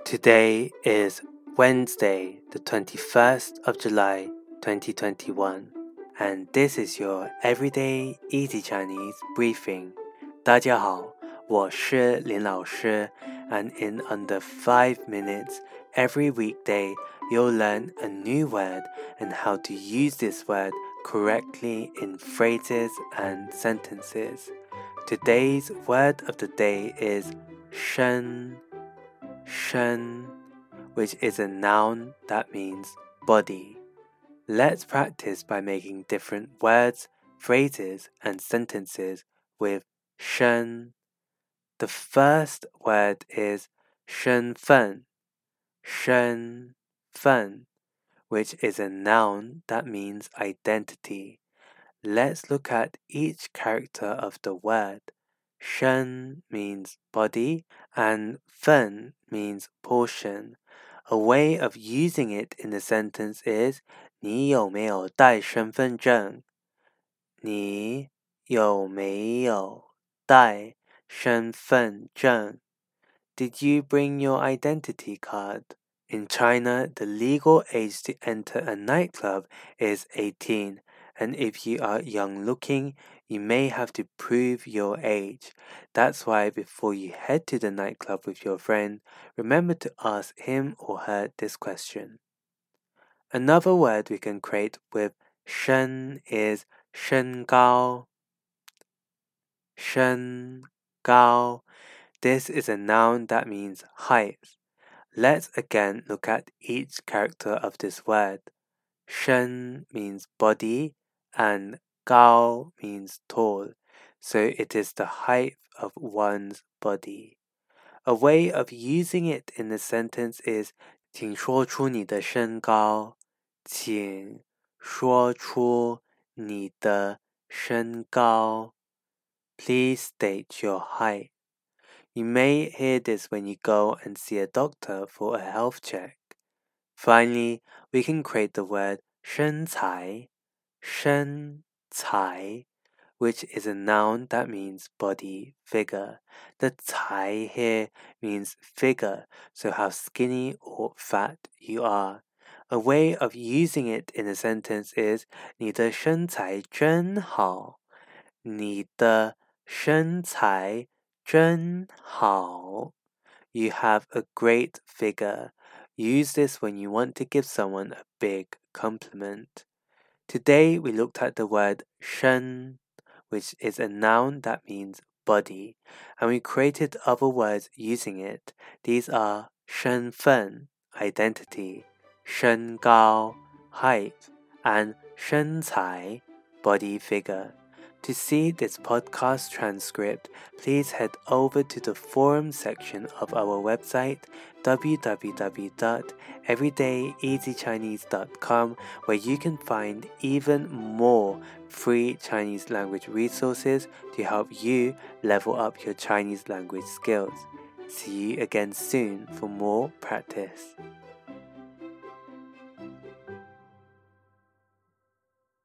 Today is Wednesday, the 21st of July, 2021, and this is your Everyday Easy Chinese briefing. 大家好，我是林老师, and in under 5 minutes, every weekday, you'll learn a new word and how to use this word correctly in phrases and sentences. Today's word of the day is 身, which is a noun that means body. Let's practice by making different words, phrases, and sentences with 身. The first word is 身份, which is a noun that means identity. Let's look at each character of the word. 身 means body and 份 means portion. A way of using it in the sentence is 你有没有带身份证？你有没有带身份证？ Did you bring your identity card? In China, the legal age to enter a nightclub is 18, and if you are young looking, you may have to prove your age. That's why before you head to the nightclub with your friend, remember to ask him or her this question. Another word we can create with 身 is 身高. 身高. This is a noun that means height. Let's again look at each character of this word. 身 means body and 高 means tall, so it is the height of one's body. A way of using it in the sentence is 请说出你的身高。请说出你的身高。Please state your height. You may hear this when you go and see a doctor for a health check. Finally, we can create the word 身材, which is a noun that means body, figure. The 才 here means figure, so how skinny or fat you are. A way of using it in a sentence is 你的身材真好。你的身材真好. You have a great figure. Use this when you want to give someone a big compliment. Today we looked at the word 身, which is a noun that means body, and we created other words using it. These are 身份, identity, 身高, height, and 身材, body figure. To see this podcast transcript, please head over to the forum section of our website, www.everydayeasychinese.com, where you can find even more free Chinese language resources to help you level up your Chinese language skills. See you again soon for more practice.